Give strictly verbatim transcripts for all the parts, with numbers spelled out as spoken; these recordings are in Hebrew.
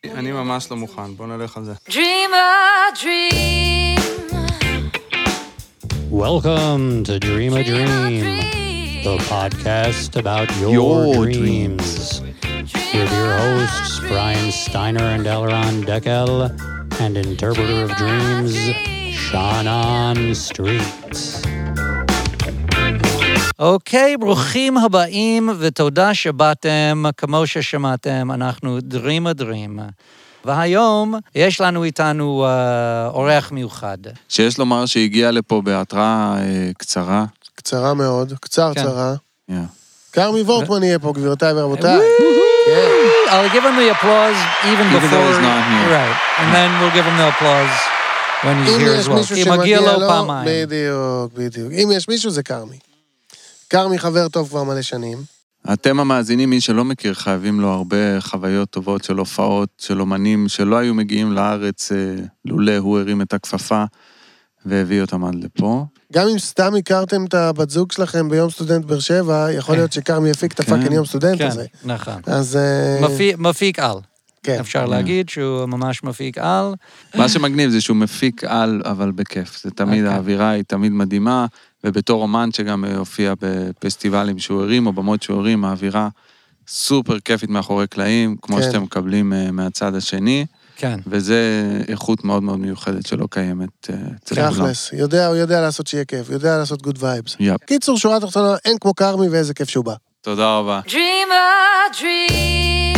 אני ממש לא מוכן, בוא נלך על זה. Dream a dream. Welcome to Dream a Dream, the podcast about your, Your dreams. With your hosts, Brian Steiner and Elron Deckel, and interpreter of dreams, Shannon Street. אוקיי, ברוכים הבאים ותודה שבאתם, כמו ששמעתם, אנחנו Dream a Dream. והיום יש לנו איתנו uh, אורח מיוחד. שיש לומר שהגיע לפה בהתראה uh, קצרה. קצרה מאוד, קצר צרה. Yeah. קרמי וורטמן יהיה פה, גבירותיי ורבותיי. I'll give him the applause even before... Even though he's not here. Right, and then we'll give him the applause when he's here as well. כי מגיע לו פעמיים. בדיוק, בדיוק. אם יש מישהו זה קרמי. קרמי חבר טוב כבר מלא שנים. אתם המאזינים, מי שלא מכיר, חייבים לו הרבה חוויות טובות של הופעות, של אומנים, שלא היו מגיעים לארץ, לולא הוא הרים את הכפפה, והביא אותם עד לפה. גם אם סתם הכרתם את הבת זוג שלכם ביום סטודנט באר שבע, יכול להיות שקרמי יפיק את הפאקינג יום סטודנט הזה. כן, נכון. אז... מפיק על. כן. אפשר להגיד שהוא ממש מפיק על. מה שמגניב זה שהוא מפיק על, אבל בכיף. זה תמיד, האווירה היא תמיד מדהימה, ובתור אומן שגם הופיע בפסטיבלים שוערים, או במות שוערים, האווירה סופר כיפית מאחורי קלעים, כמו כן. שאתם מקבלים מהצד השני, כן. וזה איכות מאוד מאוד מיוחדת שלא קיימת אצל כולם. תכלס, יודע, הוא יודע לעשות שיהיה כיף, יודע לעשות גוד וייבס. יפ. קיצור, שורה תחתונה, אין כמו קרמי ואיזה כיף שהוא בא. תודה רבה. Dream a dream.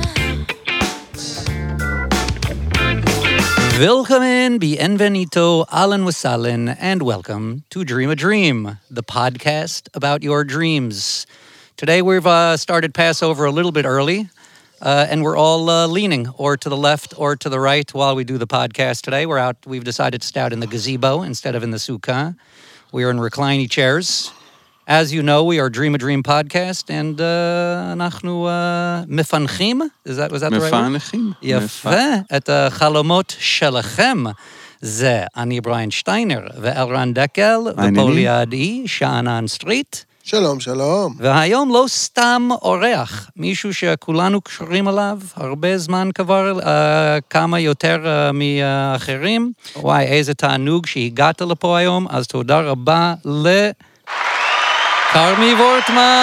Willkommen, bienvenido, Alan Wasalen, and welcome to Dream a Dream, the podcast about your dreams. Today we've uh, started Passover a little bit early, uh, and we're all uh, leaning or to the left or to the right while we do the podcast today. We're out, we've decided to stay out in the gazebo instead of in the sukkah. We are in reclining chairs. As you know, we are Dream a Dream podcast, and uh, אנחנו uh, מפנחים, is that, was that the right word? מפענחים. יפה, את החלומות שלכם. זה אני בריין שטיינר ואלרן דקל, ופה לידי שאנן סטריט. שלום, שלום. והיום לא סתם אורח, מישהו שכולנו קשורים עליו, הרבה זמן כבר, uh, כמה יותר uh, מאחרים. וואי, איזה תענוג שהגעת לפה היום, אז תודה רבה ל... קרמי וורטמן!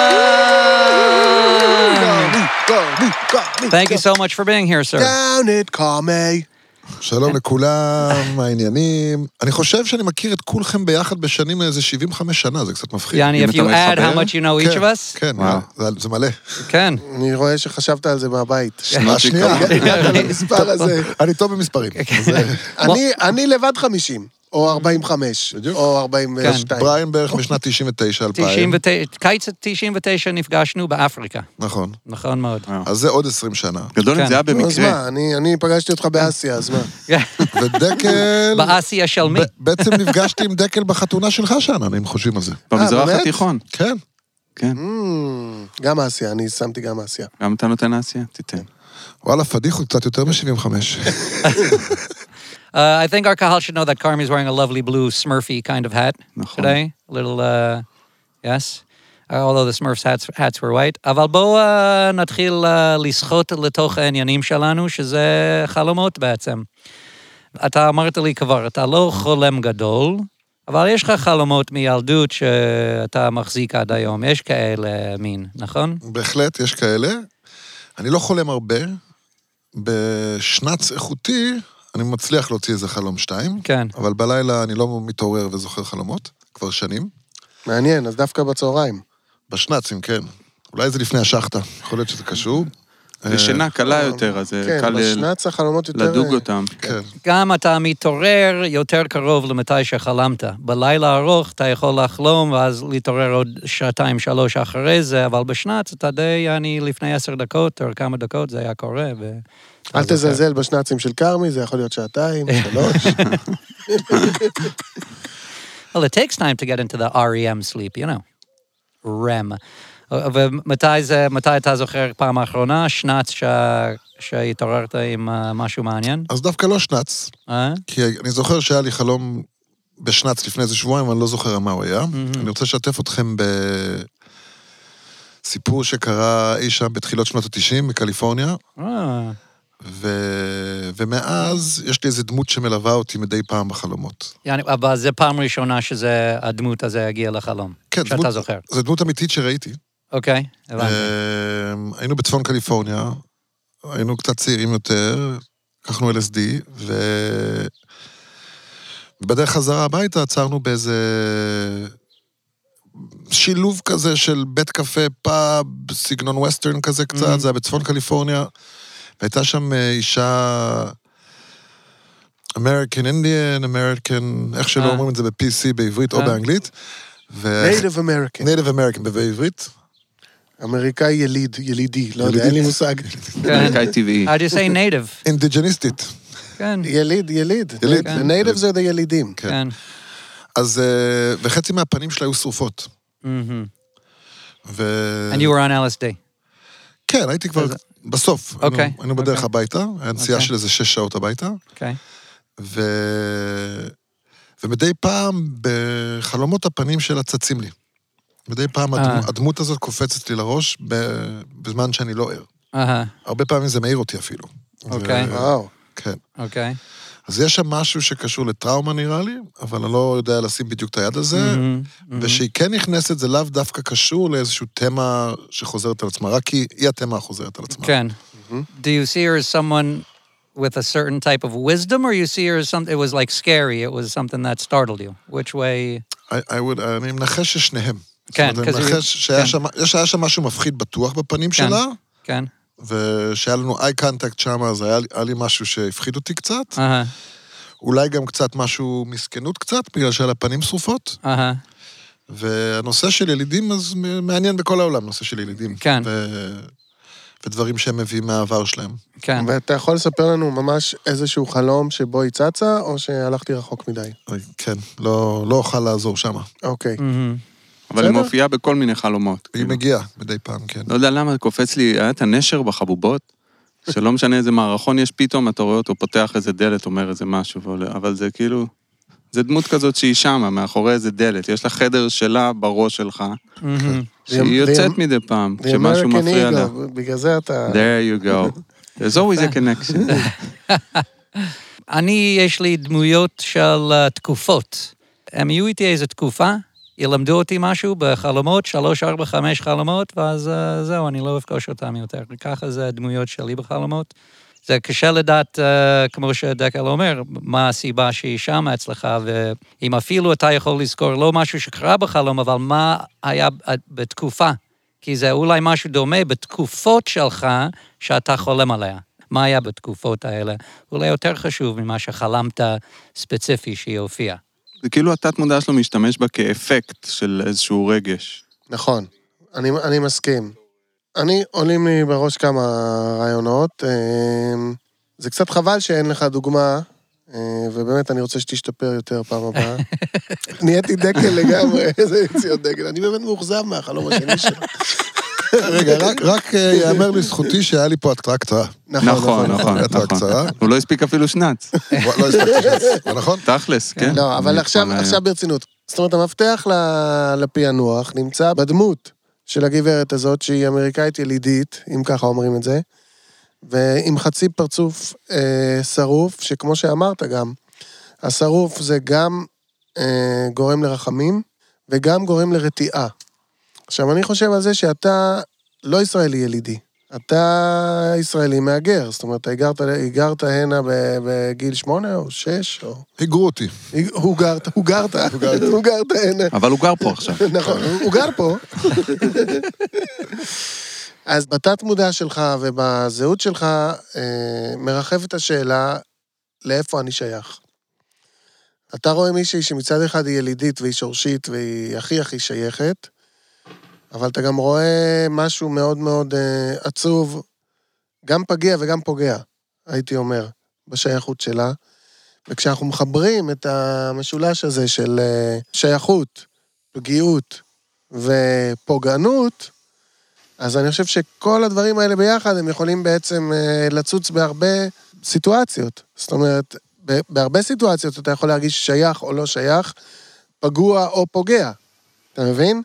Thank you so much for being here, sir. Down it, קרמי. שלום לכולם, מה העניינים? אני חושב שאני מכיר את כולכם ביחד בשנים איזה שבעים וחמש שנה, זה קצת מפחיד. יעני, if you add how much you know each of us? כן, זה מלא. כן. אני רואה שחשבת על זה מהבית. שנה שנייה. המספר הזה. אני טוב במספרים. אני לבד חמישים. או ארבעים וחמש, או ארבעים ושתיים. בריין בערך בשנת תשעים ותשע אלפיים. קיץ תשעים ותשע נפגשנו באפריקה. נכון. נכון מאוד. אז זה עוד עשרים שנה. גדול אם זה היה במקרה. אז מה, אני פגשתי אותך באסיה, אז מה? ודקל... באסיה של מי? בעצם נפגשתי עם דקל בחתונה שלך שנה, אם חושבים על זה. במזרח התיכון. כן. כן. גם אסיה, אני שמתי גם אסיה. גם אתה נותן אסיה? תיתן. וואלה, פדיחו קצת יותר מ-שבעים וחמש. Uh, I think our kahal should know that Carmi is wearing a lovely blue Smurfy kind of hat today. A little, uh, yes. Uh, although the Smurfs hats, hats were white. אבל בואו uh, נתחיל uh, לשחות לתוך העניינים שלנו, שזה חלומות בעצם. אתה אמרת לי כבר, אתה לא חולם גדול, אבל יש לך חלומות מילדות שאתה מחזיק עד היום. יש כאלה מין, נכון? בהחלט, יש כאלה. אני לא חולם הרבה. בשנץ איכותי... אני מצליח להוציא איזה חלום שתיים, כן. אבל בלילה אני לא מתעורר וזוכר חלומות, כבר שנים. מעניין, אז דווקא בצהריים. בשנצים, כן. אולי זה לפני השחטה, יכול להיות שזה קשור. זה שינה קלה יותר, אז זה קל בשנץ החלומות יותר... לדוג אותם. כן. גם אתה מתעורר יותר קרוב למתי שחלמת. בלילה ארוך אתה יכול לחלום, ואז להתעורר עוד שעתיים, שלוש אחרי זה, אבל בשנץ אתה די, אני לפני עשר דקות, או כמה דקות זה היה קורה, ו... אל תזלזל בשנצים של קרמי, זה יכול להיות שעתיים, שלוש. Well, it takes time to get into the R E M sleep, you know. R E M. ומתי זה, מתי אתה זוכר פעם האחרונה, שנץ שהתעוררת עם משהו מעניין? אז דווקא לא שנץ, כי אני זוכר שהיה לי חלום בשנץ לפני איזה שבועיים, אבל אני לא זוכר מה הוא היה. אני רוצה לשתף אתכם סיפור שקרה אי שם בתחילות שנות ה-תשעים בקליפורניה. ו... ומאז יש לי איזו דמות שמלווה אותי מדי פעם בחלומות. יעני, אבל זה פעם ראשונה שזה, הדמות הזה הגיעה לחלום. כן, שאתה דמות, זוכר. זו דמות אמיתית שראיתי. אוקיי, הבנתי. היינו בצפון קליפורניה, היינו קצת צעירים יותר, לקחנו אל אס די, ו... ובדרך חזרה הביתה עצרנו באיזה שילוב כזה של בית קפה, פאב, סגנון ווסטרן כזה קצת, mm-hmm. זה היה בצפון קליפורניה, והייתה שם אישה American Indian, American, איך שלא אומרים את זה ב-פי סי בעברית או באנגלית. Native American. Native American בעברית. אמריקאי יליד, ילידי, לא יודע, אין לי מושג. אמריקאי טבעי. How'd you say native? אינדיג'ניסטית. כן. יליד, יליד. יליד. The native זה הילידים. כן. אז, וחצי מהפנים שלה היו שרופות. ו... And you were on אל אס די. כן, הייתי כבר בסוף. אוקיי. היינו בדרך הביתה, היה נסיעה של איזה שש שעות הביתה. אוקיי. ו... ומדי פעם בחלומות הפנים שלה צצים לי. מדי פעם הדמות הזאת קופצת לי לראש בזמן שאני לא ער. הרבה פעמים זה מעיר אותי אפילו. אוקיי. וואו. כן. אוקיי. אז יש שם משהו שקשור לטראומה נראה לי, אבל אני לא יודע לשים בדיוק את היד הזה, ושהיא כן נכנסת, זה לאו דווקא קשור לאיזשהו תמה שחוזרת על עצמה, רק כי היא התמה החוזרת על עצמה. כן. Do you see her as someone with a certain type of wisdom, or you see her as something, it was like scary, it was something that startled you? Which way? I, I would, אני מנחש ששניהם. כן, זאת אומרת, אני מנחש שהיה שם, היה שם משהו מפחיד בטוח בפנים שלה, כן. ושהיה לנו eye contact שם, אז היה, היה לי משהו שהפחיד אותי קצת. Uh-huh. אולי גם קצת משהו מסכנות קצת, בגלל שהיה לה פנים שרופות. Uh-huh. והנושא של ילידים, אז מעניין בכל העולם, נושא של ילידים. כן. ו... ודברים שהם מביאים מהעבר שלהם. כן. ואתה יכול לספר לנו ממש איזשהו חלום שבו היא צצה, או שהלכתי רחוק מדי? כן, לא, לא אוכל לעזור שם. אוקיי. אבל היא מופיעה בכל מיני חלומות. היא מגיעה מדי פעם, כן. לא יודע למה, קופץ לי, היה את הנשר בחבובות, שלא משנה איזה מערכון יש פתאום, אתה רואה אותו פותח איזה דלת, אומר איזה משהו, אבל זה כאילו, זה דמות כזאת שהיא שמה, מאחורי איזה דלת, יש לה חדר שלה בראש שלך, שהיא יוצאת מדי פעם, כשמשהו מפריע לה. בגלל זה אתה... There you go. There's always a connection. אני, יש לי דמויות של תקופות. הם יהיו איתי איזו תקופה, ילמדו אותי משהו בחלומות, שלוש, ארבע, חמש חלומות, ואז זהו, אני לא אפגוש אותם יותר. ככה זה הדמויות שלי בחלומות. זה קשה לדעת, כמו שדקל אומר, מה הסיבה שהיא שמה אצלך, ואם אפילו אתה יכול לזכור לא משהו שקרה בחלום, אבל מה היה בתקופה. כי זה אולי משהו דומה בתקופות שלך שאתה חולם עליה. מה היה בתקופות האלה? אולי יותר חשוב ממה שחלמת ספציפי שהיא הופיעה. זה כאילו התת מודע שלו משתמש בה כאפקט של איזשהו רגש. נכון, אני, אני מסכים. אני, עולים לי בראש כמה רעיונות. זה קצת חבל שאין לך דוגמה, ובאמת אני רוצה שתשתפר יותר פעם הבאה. נהייתי דקל לגמרי, איזה יציאות דקל. אני באמת מאוכזב מהחלום השני שלו. רגע, רק יאמר לזכותי שהיה לי פה התראה קצרה. נכון, נכון, נכון. הוא לא הספיק אפילו שנץ. לא הספקתי שנץ, נכון? תכלס, כן. לא, אבל עכשיו ברצינות. זאת אומרת, המפתח לפענוח נמצא בדמות של הגברת הזאת, שהיא אמריקאית ילידית, אם ככה אומרים את זה, ועם חצי פרצוף שרוף, שכמו שאמרת גם, השרוף זה גם גורם לרחמים, וגם גורם לרתיעה. עכשיו, אני חושב על זה שאתה לא ישראלי ילידי, אתה ישראלי מהגר, זאת אומרת, הגרת, הגרת הנה בגיל שמונה או שש, או... הגרו אותי. הוא גרת, הוא גרת, הוא גרת הנה. אבל הוא גר פה עכשיו. נכון, הוא גר פה. אז בתת מודע שלך ובזהות שלך מרחבת השאלה לאיפה אני שייך. אתה רואה מישהי שמצד אחד היא ילידית והיא שורשית והיא הכי הכי שייכת, אבל אתה גם רואה משהו מאוד מאוד uh, עצוב, גם פגיע וגם פוגע, הייתי אומר, בשייכות שלה. וכשאנחנו מחברים את המשולש הזה של uh, שייכות, פגיעות ופוגענות, אז אני חושב שכל הדברים האלה ביחד, הם יכולים בעצם uh, לצוץ בהרבה סיטואציות. זאת אומרת, בהרבה סיטואציות אתה יכול להרגיש שייך או לא שייך, פגוע או פוגע. אתה מבין? כן.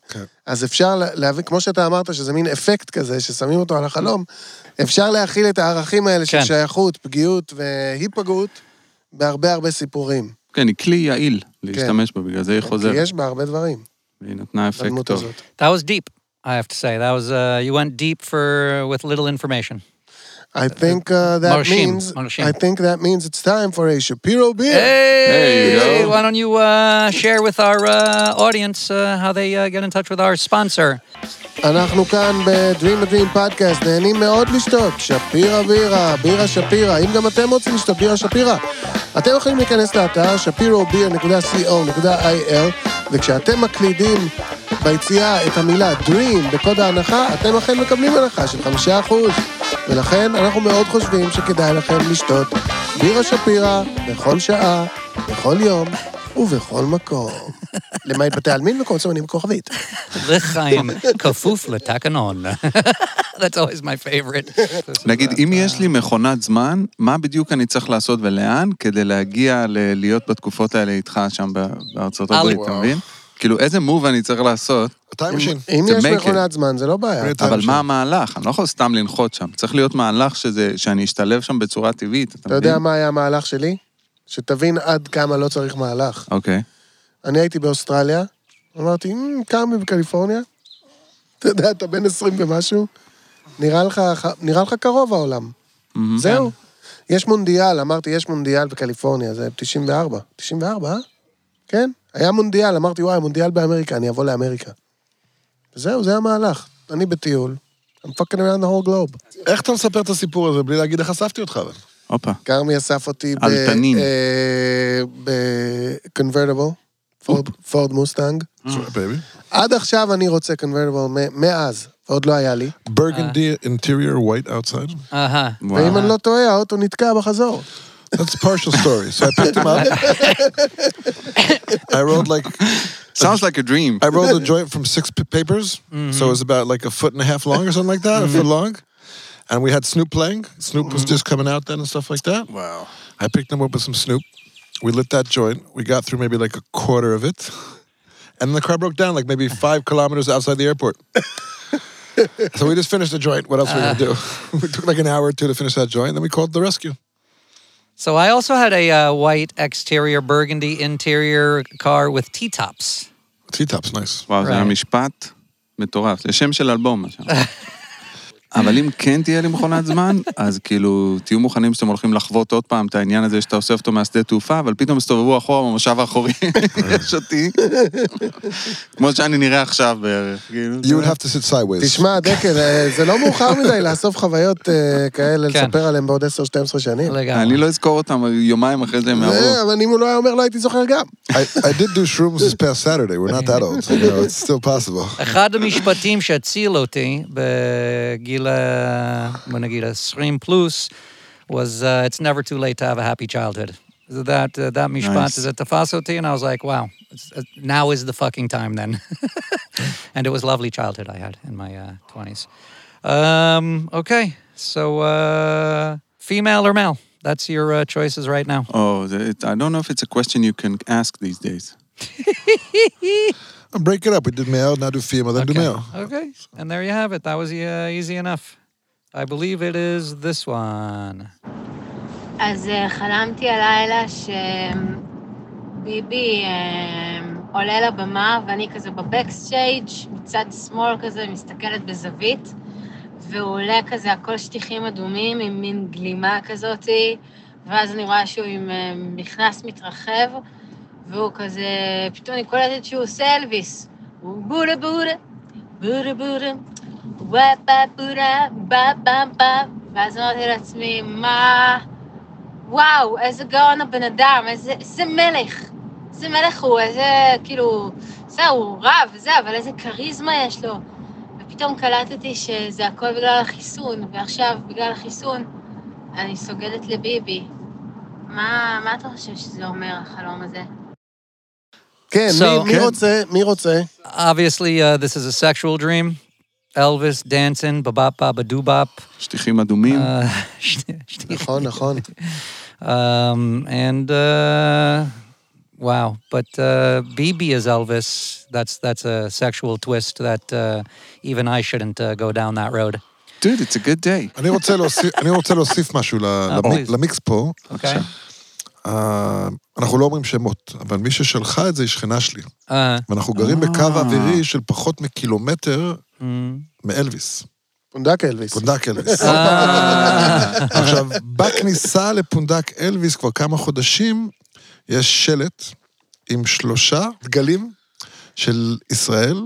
אז אפשר להבין, כמו שאתה אמרת, שזה מין אפקט כזה, ששמים אותו על החלום, אפשר להכיל את הערכים האלה של כן. שייכות, פגיעות והיפגעות, בהרבה הרבה סיפורים. כן, היא כלי יעיל להשתמש בו, בגלל זה היא כי חוזרת. יש בה הרבה דברים. והיא נתנה אפקט בדמות טוב. הזאת. That was deep, I have to say. That was, uh, you went deep for, with little information. I think uh, that Marshim, means, Marshim. I think that means it's time for a Shapiro beer. Hey, There you go. why don't you uh, share with our uh, audience uh, how they uh, get in touch with our sponsor? אנחנו כאן ב-Dream a Dream Podcast, נהנים מאוד לשתות, שפירה בירה, בירה שפירה, אם גם אתם רוצים לשתות בירה שפירה, אתם יכולים להיכנס לאתר שפירו ביר נקודה סי או נקודה איי אל, וכשאתם מקלידים ביציאה את המילה Dream בקוד ההנחה, אתם אכן מקבלים הנחה של חמישה אחוז, ולכן אנחנו מאוד חושבים שכדאי לכם לשתות בירה שפירה בכל שעה, בכל יום ובכל מקום. למעט בתי עלמין וכל סמנים כוכבית. לחיים, כפוף לתקנון. That's always my favorite. נגיד, אם יש לי מכונת זמן, מה בדיוק אני צריך לעשות ולאן, כדי להגיע ל- להיות בתקופות האלה איתך שם בארצות הברית, אתה מבין? כאילו, איזה מוב אני צריך לעשות, טיים משין. אם To יש make מכונת זמן, זה לא בעיה. אבל מה המהלך? אני לא יכול סתם לנחות שם. צריך להיות מהלך שזה, שאני אשתלב שם בצורה טבעית, אתה אתה יודע מה היה המהלך שלי? שתבין עד כמה לא צריך מהלך. אוקיי. אני הייתי באוסטרליה, אמרתי, "מ, כמה בקליפורניה? אתה יודע, אתה בן עשרים ומשהו, נראה לך, נראה לך קרוב העולם. זהו. יש מונדיאל, אמרתי, יש מונדיאל בקליפורניה, זה תשעים וארבע. תשעים וארבע, אה? כן? היה מונדיאל, אמרתי, וואי, מונדיאל באמריקה, אני אבוא לאמריקה. זהו, זה המהלך. אני בטיול. I'm fucking around the whole globe. איך אתה מספר את הסיפור הזה בלי להגיד איך אספתי אותך? אבל? הופה. כרמי אסף אותי ב... על תנין. ב-convertible, פורד מוסטנג. בייבי. עד עכשיו אני רוצה convertible, מאז, עוד לא היה לי. Burgundy interior, white outside. אהה. ואם אני לא טועה, האוטו נתקע בחזור. That's a partial story. So I picked him up. I rolled like... Sounds like a dream. I rolled a joint from six p- papers, so it was about like a foot and a half long or something like that, a foot long. And we had Snoop playing. Snoop was just coming out then and stuff like that. Wow. I picked him up with some Snoop. We lit that joint. We got through maybe like a quarter of it. And then the car broke down like maybe five kilometers outside the airport. So we just finished the joint. What else were we going to do? We took like an hour or two to finish that joint, then we called the rescue. So I also had a uh, white exterior, burgundy interior car with T-tops. T-top's nice. וואו, זה Right. היה משפט מטורף. זה שם של אלבום, מה שם. אבל אם כן תהיה לי מכונת זמן, אז כאילו, תהיו מוכנים שאתם הולכים לחוות עוד פעם את העניין הזה שאתה אוסף אותו מהשדה תעופה, אבל פתאום הסתובבו אחורה במושב האחורי, יש אותי. כמו שאני נראה עכשיו בערך. כאילו, You would have to sit sideways. תשמע, דקל, זה לא מאוחר מדי לאסוף חוויות אה, כאלה, כן. לספר עליהם בעוד עשר שתים עשרה שנים. לגמרי. אני לא אזכור אותם יומיים אחרי זה הם יעברו. זה, אבל אם הוא לא היה אומר, לא הייתי זוכר גם. I, I did do shrooms this past Saturday. We're not that old. You know, it's still possible. אחד המשפטים שהציל אותי בגיל, אה, בוא נגיד, עשרים פלוס, was uh, it's never too late to have a happy childhood. So that, uh, that משפט, Nice. זה תפס אותי, and I was like, wow, it's, uh, now is the fucking time then. And it was lovely childhood I had in my uh, twenties. Um, okay, so uh, female or male? That's your uh, choices right now. Oh, it, I don't know if it's a question you can ask these days. I'll break it up. We did male, now do female, then do Okay. male. Okay, and there you have it. That was uh, easy enough. I believe it is this one. אז אה, חלמתי הלילה שביבי אה, עולה לבמה ואני כזה בבקסטייג' מצד שמאל כזה מסתכלת בזווית והוא עולה כזה הכל שטיחים אדומים עם מין גלימה כזאת ואז אני רואה שהוא עם אה, מכנס מתרחב והוא כזה, פתאום אני קולטת שהוא עושה אלוויס הוא בודה בודה, בודה בודה וואפה בודה, בבה בבה ואז אמרתי לעצמי, מה... וואו, איזה גאון הבן אדם, איזה, איזה מלך. איזה מלך הוא, איזה, כאילו, זהו, הוא רב וזה, אבל איזה קריזמה יש לו. ופתאום קלטתי שזה הכל בגלל החיסון, ועכשיו, בגלל החיסון, אני סוגדת לביבי. מה, מה אתה חושב שזה אומר, החלום הזה? כן, So- מי- מי כן. רוצה? מי רוצה? Obviously, uh, this is a sexual dream. Elvis dancing, ba-ba-ba, ba-doo-bop. שטיחים אדומים. Uh, sh- sh- נכון, נכון. um, and uh, Wow. But uh, Bibi is Elvis. That's that's a sexual twist that uh, even I shouldn't uh, go down that road. Dude, it's a good day. אני רוצה להוסיף, אני רוצה להוסיף משהו please. למיקס פה. Okay. אה, אנחנו לא אומרים שמות, אבל מי ששלחה את זה היא שכנה שלי. Uh, ואנחנו גרים בקו אווירי של פחות מקילומטר mm, מאלוויס. פונדק אלוויס. פונדק אלוויס. uh, עכשיו, בכניסה לפונדק אלוויס כבר כמה חודשים, יש שלט עם שלושה דגלים של ישראל,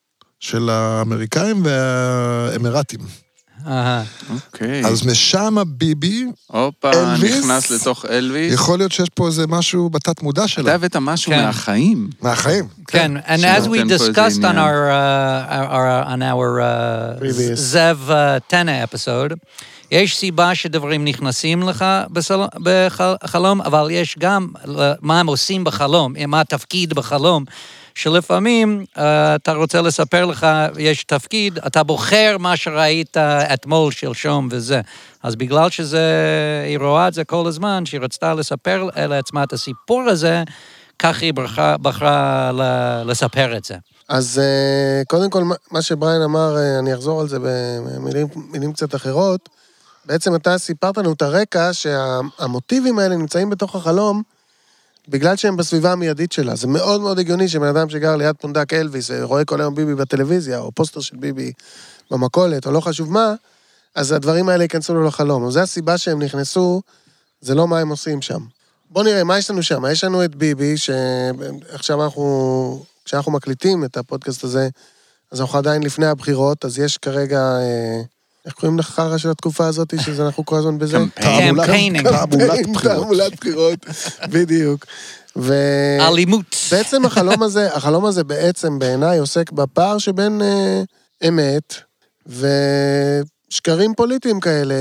של האמריקאים והאמירטים. uh, אוקיי. אז משם ביבי, הופה, אלוויס? נכנס לתוך אלוויס. יכול להיות שיש פה איזה משהו בתת מודע אתה שלה. הבאת משהו כן. מהחיים. מהחיים. Ken, and Sure. as we Then put the discussed on name. our, uh, our, our on our uh, Previous. Zev uh, Tena episode, יש סיבה שדברים נכנסים לך בסל... בחלום, אבל יש גם מה הם עושים בחלום, מה התפקיד בחלום, שלפעמים uh, אתה רוצה לספר לך, יש תפקיד, אתה בוחר מה שראית אתמול, שלשום וזה. אז בגלל שזה, היא רואה את זה כל הזמן, שהיא רצתה לספר לעצמה את הסיפור הזה, כך היא בחרה, בחרה לספר את זה. אז אה, קודם כל, מה- מה שבריין אמר, אה, אני אחזור על זה במילים מילים קצת אחרות, בעצם אתה סיפרת לנו את הרקע שהמוטיבים האלה נמצאים בתוך החלום, בגלל שהם בסביבה המיידית שלה. זה מאוד מאוד הגיוני שבן אדם שגר ליד פונדק אלוויס, רואה כל היום ביבי בטלוויזיה, או פוסטר של ביבי במכולת, או לא חשוב מה, אז הדברים האלה ייכנסו לו לחלום. וזו הסיבה שהם נכנסו, זה לא מה הם עושים שם. בוא נראה, מה יש לנו שם? יש לנו את ביבי, שעכשיו אנחנו, כשאנחנו מקליטים את הפודקאסט הזה, אז אנחנו עדיין לפני הבחירות, אז יש כרגע, אה, איך קוראים לחרא של התקופה הזאת, שאנחנו כל הזמן בזה? קמפיין. Campaigning. תעמולת בחירות. תעמולת בחירות, בדיוק. ו... אלימות. בעצם החלום הזה, החלום הזה בעצם בעיניי עוסק בפער שבין אה, אמת ושקרים פוליטיים כאלה,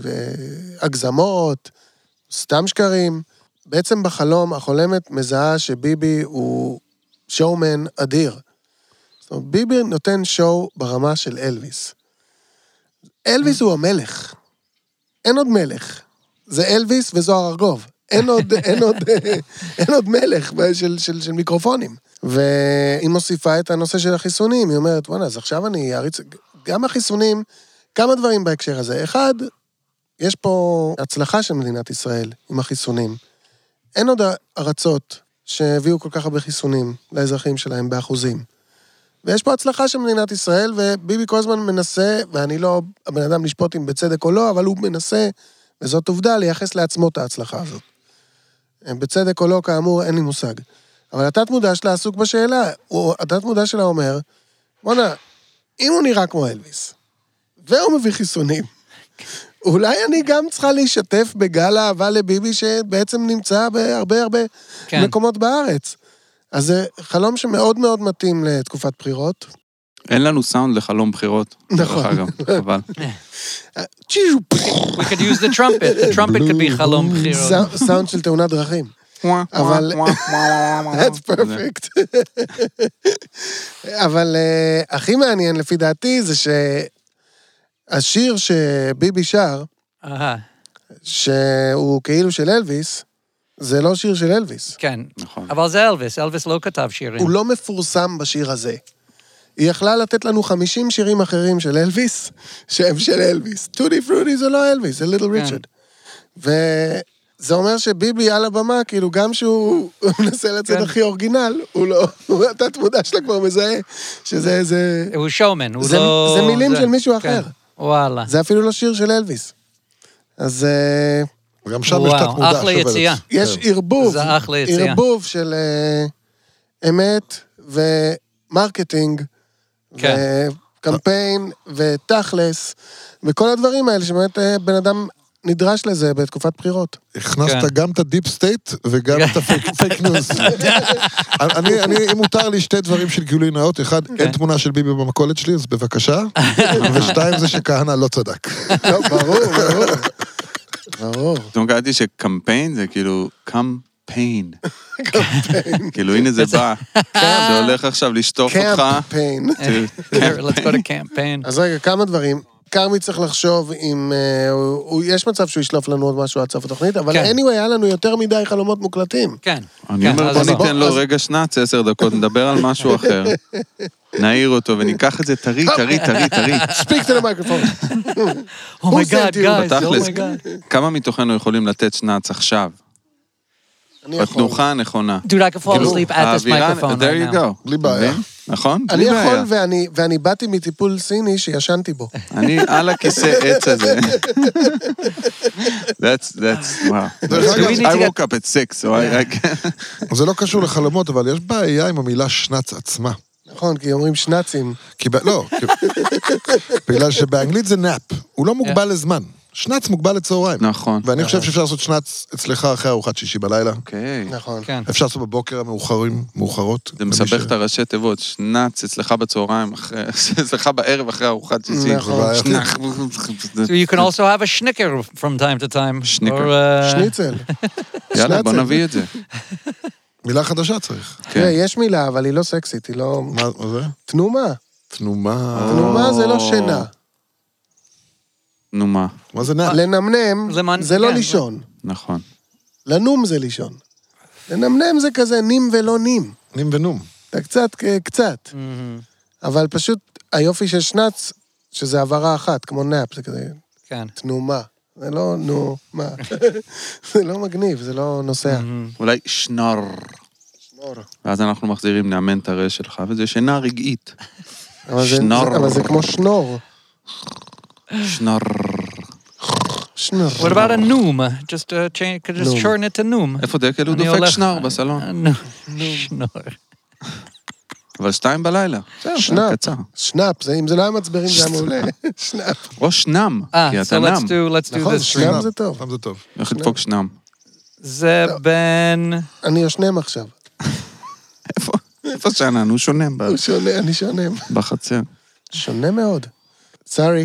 הגזמות, סתם שקרים. בעצם בחלום החולמת מזהה שביבי הוא שואומן אדיר. זאת אומרת, ביבי נותן שואו ברמה של אלוויס. אלוויס הוא המלך. אין עוד מלך. זה אלוויס וזוהר ארגוב. אין עוד, אין עוד, אין עוד מלך של, של, של מיקרופונים. והיא מוסיפה את הנושא של החיסונים. היא אומרת, וואנה, אז עכשיו אני אריץ... גם החיסונים, כמה דברים בהקשר הזה. אחד, יש פה הצלחה של מדינת ישראל עם החיסונים. אין עוד ארצות שהביאו כל כך הרבה חיסונים לאזרחים שלהם באחוזים. ויש פה הצלחה של מדינת ישראל, וביבי כל הזמן מנסה, ואני לא הבן אדם לשפוט אם בצדק או לא, אבל הוא מנסה, וזאת עובדה, לייחס לעצמו את ההצלחה הזאת. בצדק או לא, כאמור, אין לי מושג. אבל התת מודע שלה עסוק בשאלה, התת מודע שלה אומר, בוא'נה, אם הוא נראה כמו אלוויס, והוא מביא חיסונים, אולי אני גם צריכה להשתף בגל האהבה לביבי, שבעצם נמצא בהרבה הרבה כן. מקומות בארץ. אז זה חלום שמאוד מאוד מתאים לתקופת בחירות. אין לנו סאונד לחלום בחירות. נכון. דרך אגב, חבל. We could use the trumpet. The trumpet could be חלום בחירות. סאונד- סאונד של תאונת דרכים. אבל... That's perfect. אבל אה, הכי מעניין לפי דעתי זה שהשיר שביבי שר, אהה, שהוא כאילו של אלוויס, זה לא שיר של אלוויס. כן. נכון. אבל זה אלוויס, אלוויס לא כתב שירים. הוא לא מפורסם בשיר הזה. היא יכלה לתת לנו חמישים שירים אחרים של אלוויס, שהם של אלוויס. טודי פרודי זה לא אלוויס, זה ליטל ריצ'רד. וזה אומר שביבי על הבמה, כאילו גם שהוא מנסה לצאת כן. הכי אורגינל, הוא לא, התת מודע שלה כבר מזהה, שזה איזה... הוא שואומן, הוא זה- לא... זה מילים של מישהו כן. אחר. וואלה. זה אפילו לא שיר של אלוויס. אז אה, וגם שם יש וואו, תת מודע אחלה שעובדת. יציאה. יש כן. ערבוב, זה אחלה יציאה. ערבוב של אה, אמת ומרקטינג, כן. וקמפיין ותכלס, וכל הדברים האלה שבאמת אה, בן אדם נדרש לזה בתקופת בחירות. הכנסת כן. גם את הדיפ סטייט וגם את הפייק ניוז. אני, אני, אם מותר לי שתי דברים של גילוי נאות, אחד, אין תמונה של ביבי במכולת שלי, אז בבקשה, ושתיים זה שכהנא לא צדק. לא, ברור, ברור. ברור. פתאום קראתי שקמפיין זה כאילו קמפיין. כאילו הנה זה בא. זה הולך עכשיו לשטוף אותך. קמפיין. Let's go to campaign. אז רגע, כמה דברים. כרמי צריך לחשוב אם... אה, הוא, הוא, יש מצב שהוא ישלוף לנו עוד משהו עד סוף התוכנית, אבל כן. anyway, היה לנו יותר מדי חלומות מוקלטים. כן. אני כן, אומר, אז בוא בוא. ניתן לו אז- רגע שנץ, עשר דקות, נדבר על משהו אחר. נעיר אותו וניקח את זה טרי, טרי, טרי, טרי. Speak to the microphone. Oh my Who God, sent you? guys, oh בתכלס, my God. כמה מתוכנו יכולים לתת שנץ עכשיו? אני יכול. בתנוחה הנכונה. Dude, I could fall כאילו, asleep at this האווירה- microphone there right you now. go. בלי בעיה. מבין? נכון? אני בלי יכול, בעיה. ואני, ואני באתי מטיפול סיני שישנתי בו. אני על הכיסא עץ הזה. That's, that's, wow. דרך אגב, I woke up at six, so I... I- זה לא קשור לחלומות, אבל יש בעיה עם המילה שנץ עצמה. נכון, כי אומרים שנצים. כי ב... לא, כי... בגלל שבאנגלית זה נאפ. הוא לא מוגבל לזמן. שנץ מוגבל לצהריים. נכון. ואני חושב שאפשר לעשות שנץ אצלך אחרי ארוחת שישי בלילה. אוקיי. נכון. כן. אפשר לעשות בבוקר המאוחרים, מאוחרות. זה מסבך את הראשי תיבות, שנץ אצלך בצהריים, אחרי- אצלך בערב אחרי ארוחת שישי. נכון. שנח. So you can also have a schnicker from time to time. Schnicker. Or, uh, שניצל. יאללה, בוא שנצל. נביא את זה. מילה חדשה צריך. כן. תראה, יש מילה, אבל היא לא סקסית, היא לא... מה מה זה? תנומה. תנומה. תנומה זה לא שינה. נו מה, מה זה נאפ? לנמנם למען- זה לא כן. לישון. נכון. לנום זה לישון. לנמנם זה כזה נים ולא נים. נים ונום. אתה קצת, קצת. אבל פשוט היופי של שנץ, שזה הברה אחת, כמו נאפ, זה כזה כן. תנומה. זה לא, נו, מה? זה לא מגניב, זה לא נוסע. אולי שנור. שנור. ואז אנחנו מחזירים נאמן את הרש שלך, וזה שינה רגעית. אבל זה- שנור. זה- אבל זה כמו שנור. שנור. שנור. What about a noom? Just uh, change, could just Noom. shorten it to noom. איפה דקל? הוא אני דופק הולך- שנור בסלון. Uh, no. שנור. אבל שתיים בלילה. זהו, שנאפ. קצר. שנאפ, זה- אם זה לא היה מצברים, זה היה מעולה. שנאפ. או שנם, Ah, כי so אתה let's נם. do let's do נכון, this. שנאפ זה טוב. פעם זה טוב. איך לדפוק שנם? זה בין... אני יושנם עכשיו. איפה? איפה שנן? הוא שונם ב- הוא שונה, אני שונם. בחצר. שונה מאוד. סורי.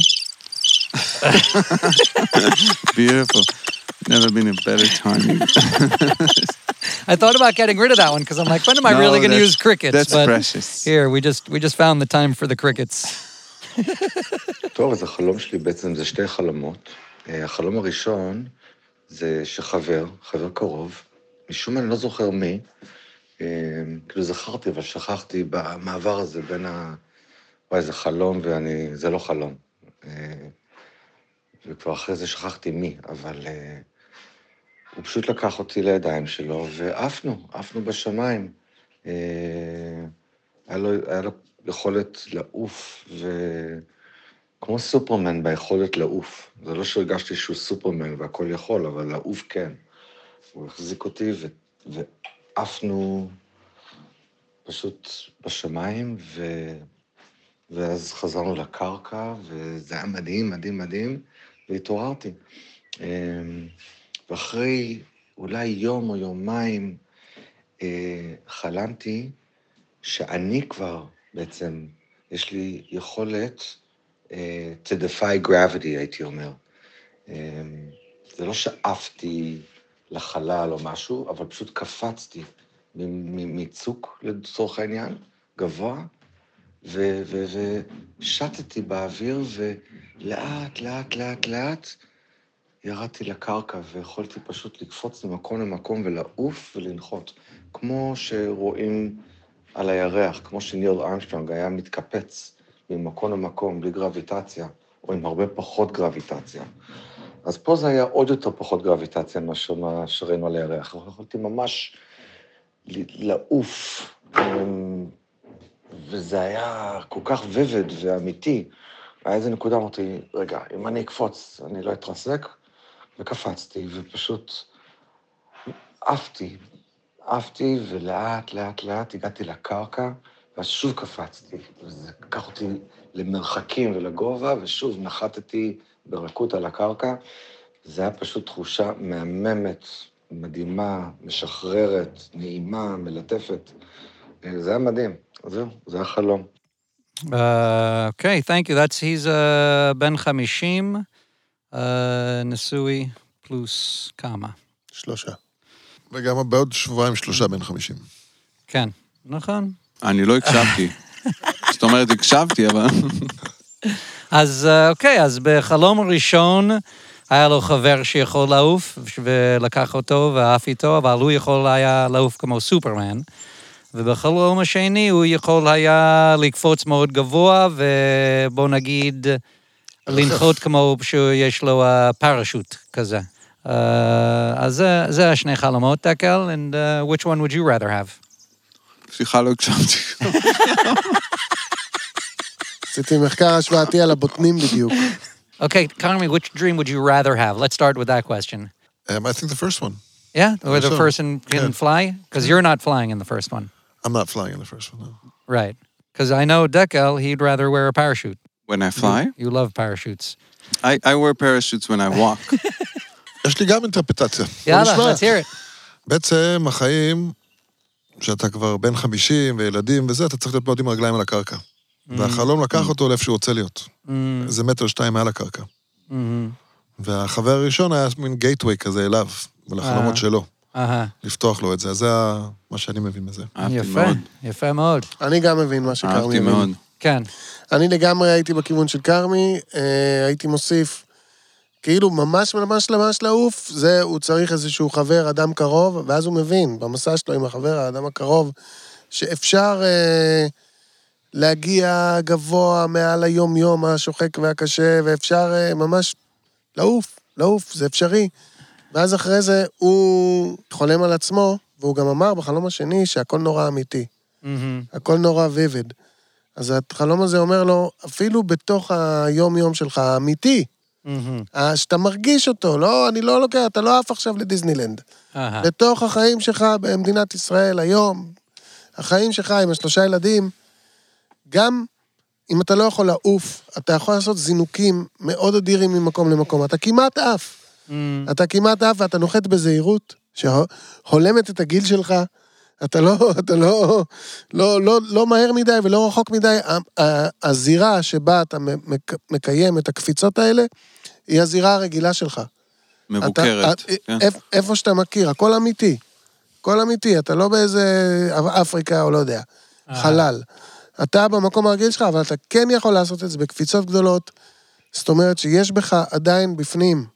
Beautiful. Never been a better timing. I thought about getting rid of that one because I'm like, when am I No, really going to that's- use crickets? That's but precious. here, we just we just found the time for the crickets. טוב, אז החלום שלי בעצם זה שתי חלומות. אה, החלום הראשון זה שחבר, חבר קרוב, משום מה אני לא זוכר מי, אה, כאילו זכרתי, אבל שכחתי במעבר הזה בין ה... וואי, זה חלום ואני... זה לא חלום. אה, וכבר אחרי זה שכחתי מי, אבל אה, הוא פשוט לקח אותי לידיים שלו, ועפנו, עפנו בשמיים. אה, היה לו, היה לו יכולת לעוף, ו... כמו סופרמן ביכולת לעוף. זה לא שהרגשתי שהוא סופרמן והכל יכול, אבל לעוף כן. הוא החזיק אותי ו... ועפנו פשוט בשמיים, ו... ואז חזרנו לקרקע, וזה היה מדהים, מדהים, מדהים, והתעוררתי. ואחרי אולי יום או יומיים חלמתי שאני כבר בעצם, יש לי יכולת to defy gravity, הייתי אומר. זה לא שעפתי לחלל או משהו, אבל פשוט קפצתי מצוק, לצורך העניין, גבוה, ושטתי באוויר, ולאט, לאט, לאט, לאט, ירדתי לקרקע, ויכולתי פשוט לקפוץ ממקום למקום ולעוף ולנחות, כמו שרואים על הירח, כמו שניל ארמסטרונג היה מתקפץ ממקום למקום, בלי גרביטציה, או עם הרבה פחות גרביטציה. אז פה זה היה עוד יותר פחות גרביטציה מאשר מה שראינו על הירח. יכולתי ממש לעוף, וזה היה כל כך ויבד ואמיתי. היה איזה נקודה, אמרתי, רגע, אם אני אקפוץ, אני לא אתרסק, וקפצתי, ופשוט עפתי, עפתי, ולאט, לאט, לאט הגעתי לקרקע, ואז שוב קפצתי, וזה לקח אותי למרחקים ולגובה, ושוב נחתתי ברכות על הקרקע. זה היה פשוט תחושה מהממת, מדהימה, משחררת, נעימה, מלטפת. זה היה מדהים. זהו, זה היה חלום. Uh, okay, thank you. That's he's uh, Ben Chamishim, uh, Nesui plus kama. שלושה. וגם בעוד שבועיים שלושה בין חמישים. כן, נכון. אני לא הקשבתי. זאת אומרת, הקשבתי, אבל... אז אה, אוקיי, אז בחלום הראשון היה לו חבר שיכול לעוף, ולקח אותו ואף איתו, אבל הוא יכול היה לעוף כמו סופרמן. ובחלום השני הוא יכול היה לקפוץ מאוד גבוה, ובוא נגיד, לנחות כמו שיש לו uh, פרשוט כזה. Uh, אז זה, זה השני חלומות, דקל, and uh, which one would you rather have? סליחה, לא הקשבתי. עשיתי מחקר השוואתי על הבוטנים בדיוק. Okay, Carmi, which dream would you rather have? Let's start with that question. Um, I think the first one. Yeah, where the sure. person can Yeah. fly? Because you're not flying in the first one. I'm not flying in the first one, no. Right. Because I know Dekel, he'd rather wear a parachute. When I fly, You love parachutes. I, I wear parachutes when I walk. יש לי גם אינטרפטציה. Yalla, נשמע. let's hear it. בעצם החיים, שאתה כבר בן חמישים וילדים וזה, אתה צריך להיות מאוד עם רגליים על הקרקע. והחלום לקח אותו לאיפה שהוא רוצה להיות. איזה מטר שתיים מעל הקרקע. Mm-hmm. והחבר הראשון היה מין גייטווי כזה אליו, ולחלומות שלו. אהה. לפתוח לו את זה. אז זה מה שאני מבין מזה. אהבתי יפה, מאוד. יפה מאוד. אני גם מבין מה שכרמי אהבתי מבין. מאוד. כן. אני לגמרי הייתי בכיוון של כרמי, אה, הייתי מוסיף, כאילו ממש ממש ממש לעוף, זה, הוא צריך איזשהו חבר, אדם קרוב, ואז הוא מבין, במסע שלו עם החבר, האדם הקרוב, שאפשר אה, להגיע גבוה מעל היום-יום השוחק והקשה, ואפשר אה, ממש לעוף, לעוף, זה אפשרי. ואז אחרי זה הוא חולם על עצמו, והוא גם אמר בחלום השני שהכל נורא אמיתי, הכל נורא ויבד. אז החלום הזה אומר לו, אפילו בתוך היום-יום שלך, האמיתי, שאתה מרגיש אותו, לא, אני לא לוקח, אתה לא עף עכשיו לדיסנילנד. אהה. בתוך החיים שלך במדינת ישראל היום, החיים שלך עם השלושה ילדים, גם אם אתה לא יכול לעוף, אתה יכול לעשות זינוקים מאוד אדירים ממקום למקום. אתה כמעט עף. אתה כמעט עף ואתה נוחת בזהירות, שהולמת את הגיל שלך, אתה לא, אתה לא, לא, לא, לא מהר מדי ולא רחוק מדי. הזירה שבה אתה מקיים את הקפיצות האלה, היא הזירה הרגילה שלך. מבוקרת. אתה, כן. איפ, איפה שאתה מכיר, הכל אמיתי. הכל אמיתי, אתה לא באיזה אפריקה או לא יודע, חלל. אתה במקום הרגיל שלך, אבל אתה כן יכול לעשות את זה בקפיצות גדולות. זאת אומרת שיש בך עדיין בפנים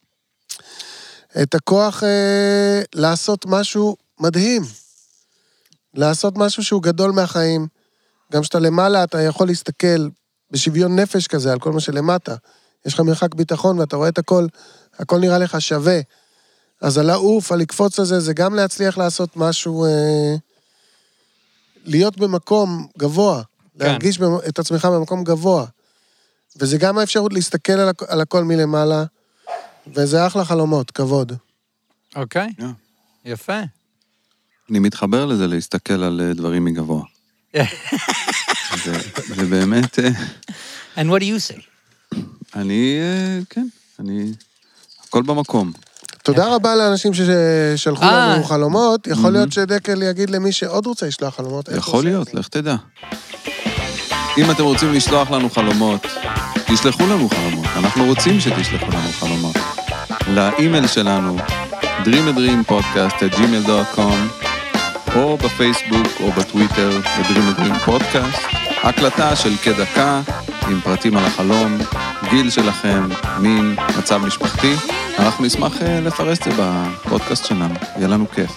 את הכוח אה, לעשות משהו מדהים. לעשות משהו שהוא גדול מהחיים. גם שאתה למעלה, אתה יכול להסתכל בשוויון נפש כזה על כל מה שלמטה. יש לך מרחק ביטחון ואתה רואה את הכל, הכל נראה לך שווה. אז הלעוף, הלקפוץ הזה, זה גם להצליח לעשות משהו, אה, להיות במקום גבוה, כן. להרגיש את עצמך במקום גבוה. וזה גם האפשרות להסתכל על, הכ- על הכל מלמעלה, וזה אחלה חלומות, כבוד. אוקיי. Yeah. יפה. אני מתחבר לזה להסתכל על אה, דברים מגבוה. זה, זה באמת, אה, And what do you say? אני, אה, כן, אני, הכל במקום. תודה רבה לאנשים ששלחו אה. לנו חלומות. יכול להיות שדקל יגיד למי שעוד רוצה לשלוח חלומות. איך יכול הוא עושה להיות, את זה. לך תדע. אם אתם רוצים לשלוח לנו חלומות, תשלחו לנו חלומות. אנחנו רוצים שתשלחו לנו חלומות. לאימייל שלנו, dream a dream podcast at gmail dot com, או בפייסבוק או בטוויטר, ב-dream a dream podcast. הקלטה של כדקה עם פרטים על החלום, גיל שלכם, מין, מצב משפחתי. אנחנו נשמח אה, לפרס את זה בפודקאסט שלנו. יהיה לנו כיף.